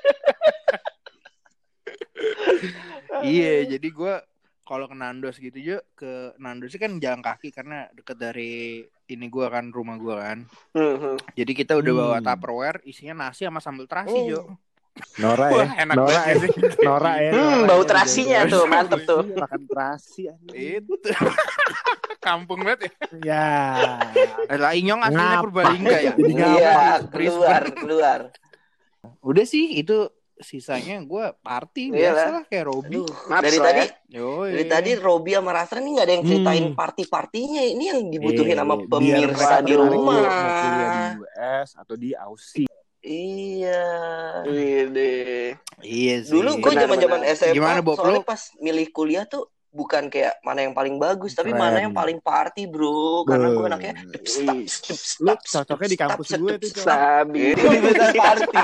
Speaker 2: Iya, jadi gue kalau ke Nandos gitu Jo, ke Nandos sih kan jalan kaki karena deket dari ini gue kan, rumah gue kan.
Speaker 4: Hmm, hmm.
Speaker 2: Jadi kita udah bawa
Speaker 3: Hmm.
Speaker 2: Tupperware, isinya nasi sama sambal terasi
Speaker 1: Hmm.
Speaker 2: Jo.
Speaker 3: Nora ya.
Speaker 2: Wah, enak
Speaker 3: Nora
Speaker 2: banget
Speaker 3: ya.
Speaker 2: sih.
Speaker 3: Nora ya.
Speaker 4: Hmm,
Speaker 3: Nora
Speaker 4: bau
Speaker 3: ya.
Speaker 4: terasinya tuh, mantep tuh.
Speaker 3: Iya, makan terasi anjing.
Speaker 2: Itu. Kampung banget ya.
Speaker 3: Ya.
Speaker 2: Eh, lah Inyong aslinya
Speaker 3: Ngapa?
Speaker 2: Purbalingga ya.
Speaker 3: Jadi ngapa?
Speaker 1: Iya,
Speaker 2: Brisbane.
Speaker 1: keluar, keluar.
Speaker 2: Udah sih itu sisanya gue party
Speaker 4: Iya
Speaker 2: biasa
Speaker 4: lah.
Speaker 2: lah kayak Robi.
Speaker 1: Aduh,
Speaker 4: Naps
Speaker 1: dari
Speaker 4: lah
Speaker 1: tadi,
Speaker 4: ya.
Speaker 2: Yoi.
Speaker 1: dari tadi Robi sama Rastra ini nggak ada yang ceritain
Speaker 3: Hmm.
Speaker 1: party-partinya. Ini yang dibutuhin sama
Speaker 3: Eh, biar
Speaker 1: pemirsa
Speaker 3: mereka
Speaker 1: di
Speaker 3: tertarik
Speaker 1: rumah.
Speaker 3: yuk mau kuliah di U S atau di Aussie.
Speaker 1: Iya.
Speaker 4: Wih,
Speaker 2: Iya sih.
Speaker 1: Dulu gue
Speaker 4: Benar,
Speaker 1: zaman-zaman
Speaker 4: benar.
Speaker 1: S M A,
Speaker 2: Gimana, Bob?
Speaker 1: soalnya
Speaker 2: Lu?
Speaker 1: pas milih kuliah tuh bukan kayak mana yang paling bagus, tapi
Speaker 3: Keren.
Speaker 1: mana yang paling party, bro. Karena gue
Speaker 3: Be.
Speaker 1: anaknya
Speaker 4: Wih.
Speaker 3: Lu cocoknya di kampus gue tuh, Cok.
Speaker 4: Sabi.
Speaker 1: Ini universitas party.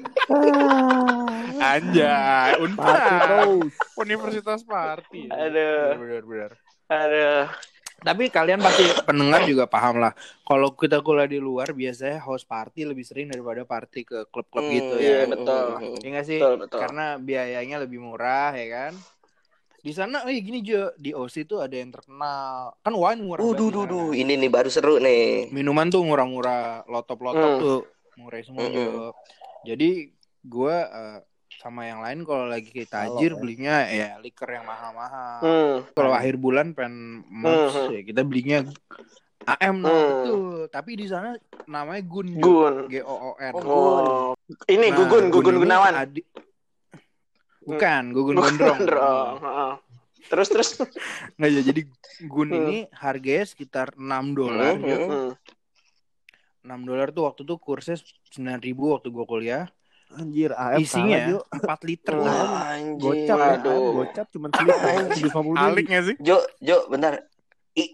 Speaker 2: Anjay,
Speaker 3: Party
Speaker 2: Unpad.
Speaker 3: terus.
Speaker 2: Universitas party.
Speaker 4: Aduh.
Speaker 2: Benar benar.
Speaker 4: Aduh.
Speaker 2: Tapi kalian pasti pendengar juga paham lah. Kalau kita kuliah di luar biasanya host party lebih sering daripada party ke klub-klub
Speaker 1: Hmm,
Speaker 2: gitu
Speaker 4: iya,
Speaker 2: ya.
Speaker 4: betul.
Speaker 2: Iya nggak sih?
Speaker 4: Betul, betul.
Speaker 2: Karena biayanya lebih murah ya kan. Di sana, eh gini Jo, di O S I tuh ada yang terkenal. Kan wine murah.
Speaker 1: Uh,
Speaker 2: banget
Speaker 1: duh,
Speaker 2: di
Speaker 1: duh,
Speaker 2: sana.
Speaker 1: duh. Ini nih baru seru nih.
Speaker 2: Minuman tuh murah-murah, lotop-lotop
Speaker 4: Hmm.
Speaker 2: tuh murah semua
Speaker 1: Mm-mm.
Speaker 2: Jo. Jadi gue eh, sama yang lain kalau lagi kayak tajir
Speaker 3: Kalau, ya.
Speaker 2: belinya ya liquor yang mahal-mahal.
Speaker 4: Hmm.
Speaker 2: Kalau akhir bulan pengen moms
Speaker 4: Hmm.
Speaker 2: ya kita belinya A M no
Speaker 4: Hmm.
Speaker 2: betul. Tapi di sana namanya Gun.
Speaker 4: Gun.
Speaker 2: G O O N.
Speaker 4: Oh. Ini
Speaker 2: Nah,
Speaker 4: Gugun, Gugun
Speaker 2: ini
Speaker 4: Gunawan.
Speaker 2: Adi... Bukan, Gugun
Speaker 4: Bukan
Speaker 2: Gondrong.
Speaker 4: Gondrong. Heeh. Terus terus.
Speaker 2: Nggak ya, jadi Gun
Speaker 4: Hmm.
Speaker 2: ini harganya sekitar enam dolar.
Speaker 1: Hmm,
Speaker 2: Jo.
Speaker 1: hmm.
Speaker 4: Hmm.
Speaker 2: enam dolar tuh waktu itu kursnya sembilan ribu waktu gue kuliah.
Speaker 3: Anjir, A M
Speaker 2: Isinya
Speaker 3: kalah, Jo.
Speaker 2: empat liter.
Speaker 4: Wah,
Speaker 2: Jo.
Speaker 1: Anjing.
Speaker 3: Gocap ya, A M
Speaker 4: Waduh.
Speaker 3: gocap cuma seliter tujuh ratus lima puluh
Speaker 2: Alik nggak sih?
Speaker 1: Jo, Jo, bentar. I...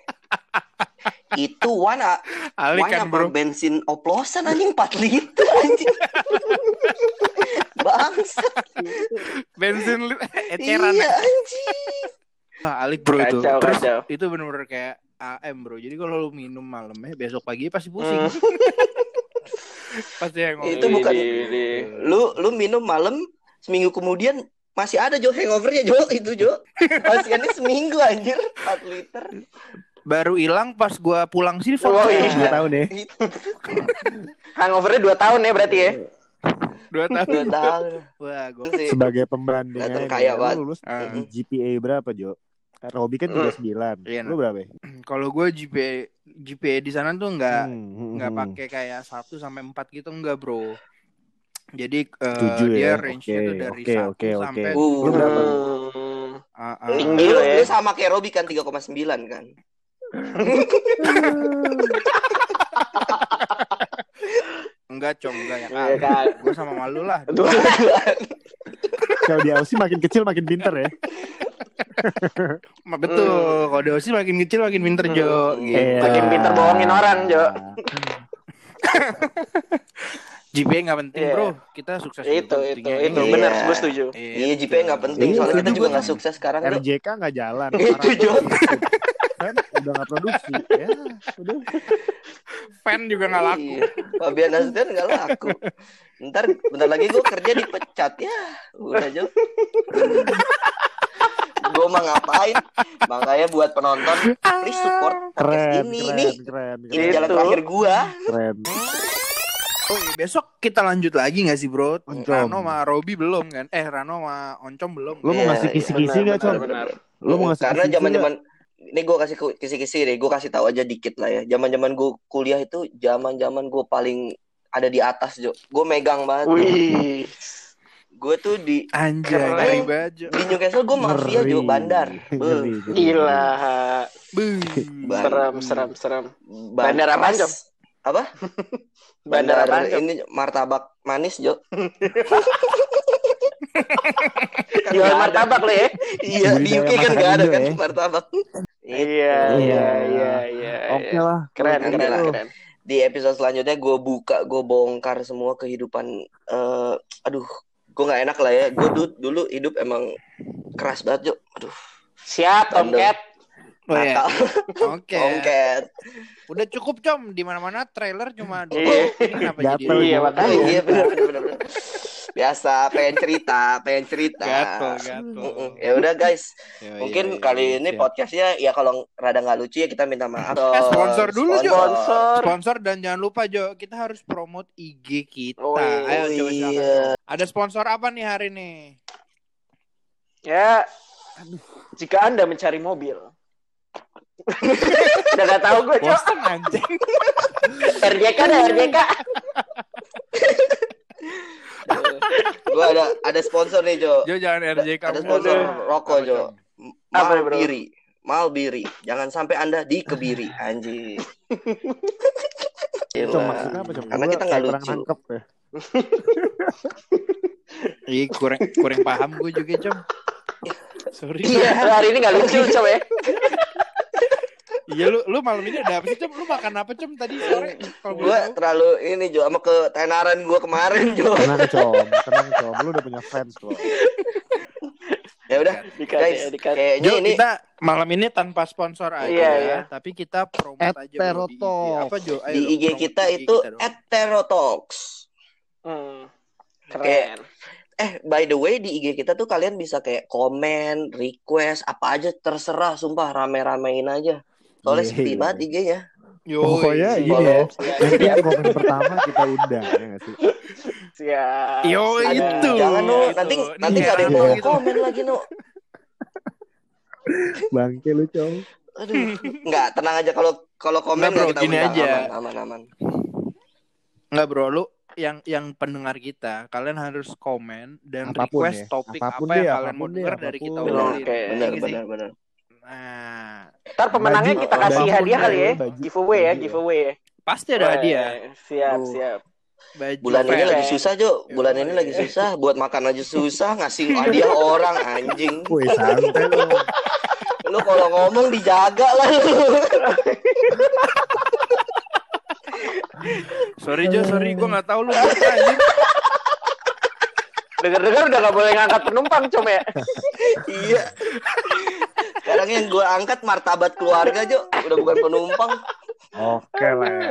Speaker 1: Itu one a...
Speaker 2: Alik
Speaker 1: one
Speaker 2: kan
Speaker 1: apa
Speaker 2: bro.
Speaker 1: bensin oplosan anjing empat liter anjing. Bangsa.
Speaker 2: Bensin li- eceran.
Speaker 1: Iya anjing.
Speaker 2: Ah, Alik bro itu.
Speaker 4: Kacau,
Speaker 2: Terus
Speaker 4: kacau.
Speaker 2: itu bener-bener kayak A M bro. Jadi kalau lu minum malamnya besok pagi pasti pusing.
Speaker 4: Hmm.
Speaker 2: Pasti yang
Speaker 1: Itu bukan-
Speaker 4: Widih.
Speaker 1: Lu lu minum malam seminggu kemudian masih ada Jo hangovernya Jo itu Jo. Pasiennya seminggu anjir empat liter.
Speaker 2: baru hilang pas gua pulang sini.
Speaker 4: Oh, iya.
Speaker 3: dua tahun ya.
Speaker 4: Hangovernya dua tahun ya berarti ya.
Speaker 2: Dua tahun.
Speaker 1: Dua tahun.
Speaker 2: Wah, gua
Speaker 1: Sih.
Speaker 3: Sebagai pembandingan,
Speaker 1: Kelihatan kaya
Speaker 3: lu
Speaker 1: banget.
Speaker 3: lulus
Speaker 2: Ah.
Speaker 3: G P A berapa, Jo? Robi kan tiga puluh sembilan.
Speaker 2: Iya,
Speaker 3: Lu berapa? ya?
Speaker 2: kalau gua G P A G P A di sana tuh nggak
Speaker 3: Hmm,
Speaker 2: nggak
Speaker 3: hmm,
Speaker 2: pakai kayak satu sampai empat gitu, enggak bro. Jadi eh,
Speaker 3: Setuju
Speaker 2: dia
Speaker 3: ya.
Speaker 2: range-nya
Speaker 3: Oke,
Speaker 2: tuh dari
Speaker 3: oke,
Speaker 2: satu
Speaker 3: oke, oke.
Speaker 2: sampai
Speaker 1: Uh.
Speaker 3: Lu berapa?
Speaker 4: Hmm.
Speaker 2: Ah, ah.
Speaker 4: Tinggi
Speaker 1: Lu,
Speaker 4: lah ya.
Speaker 1: lu sama kayak Robi kan tiga koma sembilan kan.
Speaker 2: Enggak, Com, enggak ya.
Speaker 4: Iya kan.
Speaker 2: Gue sama malu lah.
Speaker 4: Aduh.
Speaker 3: Kalau di Aussie makin kecil makin pinter ya.
Speaker 2: Ma- Betul, kalau di Aussie makin kecil makin pinter Jo.
Speaker 1: Hmm.
Speaker 2: Gitu.
Speaker 3: Iya.
Speaker 4: Makin pinter bohongin orang, Jo.
Speaker 2: G P A nggak penting
Speaker 4: Iya.
Speaker 2: bro, kita sukses
Speaker 4: Itu
Speaker 2: juga
Speaker 4: itu
Speaker 2: pentingnya.
Speaker 4: itu
Speaker 1: Iya.
Speaker 4: benar, gue setuju.
Speaker 1: Iya J P nggak penting
Speaker 3: Iya,
Speaker 1: soalnya kita
Speaker 3: setuju
Speaker 1: juga
Speaker 3: gua.
Speaker 1: nggak sukses sekarang
Speaker 3: R
Speaker 1: Jo.
Speaker 3: J K nggak jalan.
Speaker 1: Itu Jo.
Speaker 3: Kan udah nggak produksi. Ya, udah.
Speaker 2: Fan juga nggak laku.
Speaker 1: Iya. Fabian Asden nggak laku. Ntar bentar lagi gue kerja dipecat ya. Udah Jo. Gue mah ngapain? Makanya buat penonton please support podcast
Speaker 3: Keren,
Speaker 1: ini.
Speaker 3: keren,
Speaker 1: Nih
Speaker 3: keren,
Speaker 1: ini
Speaker 3: keren.
Speaker 1: jalan
Speaker 4: Itu.
Speaker 1: terakhir gue.
Speaker 3: Keren.
Speaker 2: Oh iya, besok kita lanjut lagi nggak sih bro?
Speaker 3: Oncom.
Speaker 2: Rano sama Robi belum kan? Eh Rano sama Oncom belum.
Speaker 3: Lu mau
Speaker 1: Iya,
Speaker 3: ngasih
Speaker 1: iya,
Speaker 3: kisi-kisi
Speaker 4: benar,
Speaker 3: nggak, Com?
Speaker 4: benar, benar.
Speaker 3: Lu mau ngasih
Speaker 1: Karena
Speaker 3: kisi-kisi
Speaker 1: zaman-zaman ini gue kasih ku- kisi-kisi deh, gue kasih tahu aja dikit lah ya. Zaman-zaman gue kuliah itu zaman-zaman gue paling ada di atas Jo. Gue megang banget.
Speaker 4: Wih.
Speaker 1: Gue tuh di
Speaker 2: Anjay,
Speaker 1: Keren.
Speaker 2: ngeri baju.
Speaker 1: di Newcastle gue mafia
Speaker 3: Ngeri.
Speaker 1: Jo bandar.
Speaker 3: Ngeri,
Speaker 1: Beuh.
Speaker 3: ngeri.
Speaker 4: Gila.
Speaker 1: Ban-
Speaker 4: Seram, seram, seram.
Speaker 1: ban-
Speaker 4: Bandar apaan,
Speaker 1: keras.
Speaker 4: Jom?
Speaker 1: Apa?
Speaker 4: Bandar apaan, Jom?
Speaker 1: ini martabak manis Jo. Kan
Speaker 4: Jual
Speaker 1: nggak ada.
Speaker 4: martabak lo ya?
Speaker 1: Iya di U K
Speaker 3: Budidaya
Speaker 1: kan nggak ada
Speaker 3: masakan
Speaker 1: kan
Speaker 3: Indo ya.
Speaker 1: martabak.
Speaker 4: Iya, iya, iya, iya.
Speaker 3: Oke lah.
Speaker 4: Keren,
Speaker 1: Nanti
Speaker 4: keren,
Speaker 1: lah.
Speaker 4: keren.
Speaker 1: Di episode selanjutnya gue buka, gue bongkar semua kehidupan. eh aduh, gue nggak enak lah ya. Gue dulu, dulu hidup emang keras banget Jo. Aduh,
Speaker 4: Siap, Tomcat.
Speaker 2: Oh iya.
Speaker 1: nakal.
Speaker 2: Oke.
Speaker 1: Ongket.
Speaker 2: Udah cukup Com, di mana-mana trailer cuma dua.
Speaker 4: Iya.
Speaker 2: Ini kenapa jadi?
Speaker 3: Gatel
Speaker 4: Iya,
Speaker 3: gua.
Speaker 4: makanya.
Speaker 1: Oh, iya benar benar benar. Biasa pengen cerita, pengen cerita.
Speaker 2: Gatel, gatel.
Speaker 1: Mm-mm. Ya udah guys,
Speaker 2: Iya,
Speaker 1: mungkin
Speaker 2: iya,
Speaker 1: kali
Speaker 2: iya,
Speaker 1: ini
Speaker 2: siap.
Speaker 1: podcastnya ya kalau rada nggak lucu ya kita minta maaf.
Speaker 2: Eh, sponsor dulu, Jo.
Speaker 4: Sponsor.
Speaker 2: Sponsor dan jangan lupa Jo, kita harus promote I G kita.
Speaker 4: Oh,
Speaker 2: Ayo coba
Speaker 1: iya.
Speaker 2: silakan. Ada sponsor apa nih hari ini?
Speaker 4: Ya, jika Anda mencari mobil. Udah gak tahu gue, Cok.
Speaker 2: Bosen anjing.
Speaker 4: R J K dah, R J K.
Speaker 1: Gue ada ada sponsor nih Jo.
Speaker 2: Jo jangan R J kamu.
Speaker 1: Ada sponsor rokok
Speaker 2: Apa,
Speaker 1: Jo.
Speaker 2: Com?
Speaker 4: Apa nih, bro?
Speaker 1: Malbiri. Malbiri. Jangan sampai Anda dikebiri anjing.
Speaker 3: Com, maksudnya apa, Com?
Speaker 1: Karena
Speaker 3: Gua
Speaker 1: kita nggak
Speaker 3: kayak kurang
Speaker 1: lucu.
Speaker 3: nangkep ya.
Speaker 2: Iya kurang kurang paham gue juga Com. Sorry.
Speaker 4: Iya, hari ini gak lucu, Cok ya.
Speaker 2: Iya lu lu malam ini ada apa sih Com? Lu makan apa Com tadi sore? Kalau
Speaker 1: Gue
Speaker 2: boleh tahu.
Speaker 1: terlalu ini Jo sama ketenaran gue kemarin Jo.
Speaker 3: Tenang, Com. Tenang, Com. Lu udah punya fans loh.
Speaker 1: Ya udah
Speaker 4: Dikat,
Speaker 1: guys,
Speaker 4: ya, dikat.
Speaker 1: kayaknya
Speaker 2: Jo,
Speaker 1: ini
Speaker 2: kita malam ini tanpa sponsor aja
Speaker 4: Iya,
Speaker 2: ya,
Speaker 4: iya.
Speaker 2: tapi kita promote aja bro, di I G.
Speaker 3: Eterotalks.
Speaker 2: Apa Jo? Ayo
Speaker 1: di
Speaker 2: dong,
Speaker 1: I G
Speaker 2: promote
Speaker 1: kita
Speaker 2: I G
Speaker 1: itu
Speaker 2: dong.
Speaker 1: Eterotalks.
Speaker 4: Hmm.
Speaker 1: Kayak-
Speaker 4: Keren.
Speaker 1: Eh, by the way di I G kita tuh kalian bisa kayak komen, request, apa aja terserah, sumpah rame-ramein aja. Soalnya
Speaker 3: Iya,
Speaker 1: sepi
Speaker 3: iya.
Speaker 1: banget I G-nya.
Speaker 2: Yo,
Speaker 3: Pokoknya
Speaker 2: iya.
Speaker 3: gini ya. Nanti yang komen pertama kita undang, ya nggak sih?
Speaker 4: Siap.
Speaker 2: Yo,
Speaker 4: siap.
Speaker 2: itu.
Speaker 1: Jangan no,
Speaker 2: Itu.
Speaker 1: nanti
Speaker 2: Ini
Speaker 1: nanti nggak ada yang
Speaker 2: Rano
Speaker 1: mau
Speaker 2: gitu.
Speaker 1: komen lagi no.
Speaker 3: Bangke lu, Com.
Speaker 1: Aduh, nggak tenang aja kalau kalau komen
Speaker 2: Nggak, bro,
Speaker 1: nggak kita
Speaker 2: gini
Speaker 1: undang,
Speaker 2: aja.
Speaker 1: aman aman aman.
Speaker 2: Enggak bro, lu yang yang pendengar kita, kalian harus komen dan
Speaker 3: Apapun
Speaker 2: request
Speaker 3: ya.
Speaker 2: topik
Speaker 3: Apapun
Speaker 2: apa
Speaker 3: deh,
Speaker 2: yang kalian
Speaker 3: apapun
Speaker 2: mau
Speaker 3: deh,
Speaker 2: dengar dari
Speaker 3: apapun.
Speaker 2: kita
Speaker 1: Benar,
Speaker 2: obrolin.
Speaker 4: Oke.
Speaker 1: benar,
Speaker 2: Iya nggak sih?
Speaker 1: benar, benar.
Speaker 2: Nah,
Speaker 4: Ntar pemenangnya
Speaker 3: Baju-
Speaker 4: kita kasih
Speaker 3: baju
Speaker 4: hadiah
Speaker 3: pun
Speaker 4: kali ya.
Speaker 3: baju,
Speaker 4: Giveaway ya,
Speaker 3: baju
Speaker 4: giveaway ya.
Speaker 2: pasti ada
Speaker 4: Weh,
Speaker 2: hadiah.
Speaker 4: Siap,
Speaker 3: Tuh.
Speaker 4: siap.
Speaker 2: Baju
Speaker 1: Bulan ini
Speaker 2: fair.
Speaker 1: lagi susah, Jo. Bulan
Speaker 2: Yoi.
Speaker 1: ini lagi susah. Buat makan aja susah. Ngasih hadiah orang, anjing.
Speaker 3: Wih, santai lu.
Speaker 1: Lu kalau ngomong dijaga lah lu.
Speaker 2: Sorry Jo, sorry gue nggak tahu lu buka anjing.
Speaker 4: Dengar-dengar udah gak boleh ngangkat penumpang, Com ya.
Speaker 1: Iya. Sekarang yang gue angkat martabat keluarga, Jo. Udah bukan penumpang.
Speaker 3: Oke lah ya.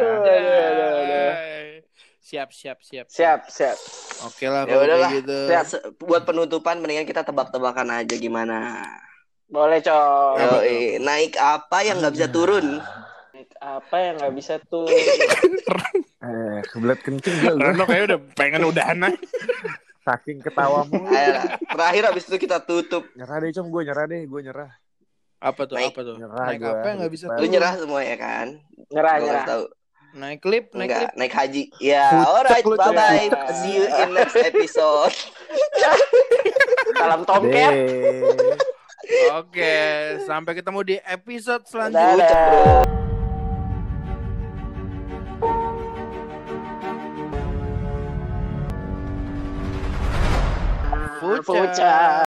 Speaker 2: Siap, siap, siap.
Speaker 4: Siap, siap.
Speaker 2: Oke lah
Speaker 1: Ya
Speaker 2: kalau
Speaker 1: udahlah.
Speaker 2: kayak gitu.
Speaker 4: Siap.
Speaker 1: Se- Buat penutupan mendingan kita tebak-tebakan aja gimana.
Speaker 4: Boleh, Com.
Speaker 2: Apa tuh?
Speaker 1: Yoi, naik apa yang nggak bisa turun?
Speaker 4: Apa yang gak bisa tuh?
Speaker 3: Eh, kebelet kencing gue.
Speaker 2: Rano kayak udah pengen udahan aja.
Speaker 3: Saking ketawamu.
Speaker 1: Ayo lah. Terakhir abis itu kita tutup.
Speaker 3: Nyerah deh, Com. Gue nyerah deh. Gue nyerah.
Speaker 2: Apa tuh?
Speaker 1: Naik-
Speaker 2: Apa tuh?
Speaker 3: Nyerah
Speaker 2: Naik
Speaker 3: gua.
Speaker 2: apa yang nggak bisa
Speaker 3: Lu
Speaker 1: Lu
Speaker 2: turun?
Speaker 1: nyerah semua ya kan?
Speaker 4: Nyerah,
Speaker 1: Gua
Speaker 4: nyerah.
Speaker 1: kasih tahu.
Speaker 2: Naik klip, naik
Speaker 1: Enggak,
Speaker 2: klip.
Speaker 1: naik haji. Ya,
Speaker 3: Pucek
Speaker 1: alright,
Speaker 3: lu,
Speaker 1: bye bye.
Speaker 4: Cok.
Speaker 1: See you in next episode.
Speaker 4: Salam tomcat.
Speaker 3: Deh.
Speaker 2: Oke, sampai ketemu di episode selanjutnya.
Speaker 4: Dadah.
Speaker 2: Fuca.
Speaker 4: Fuca.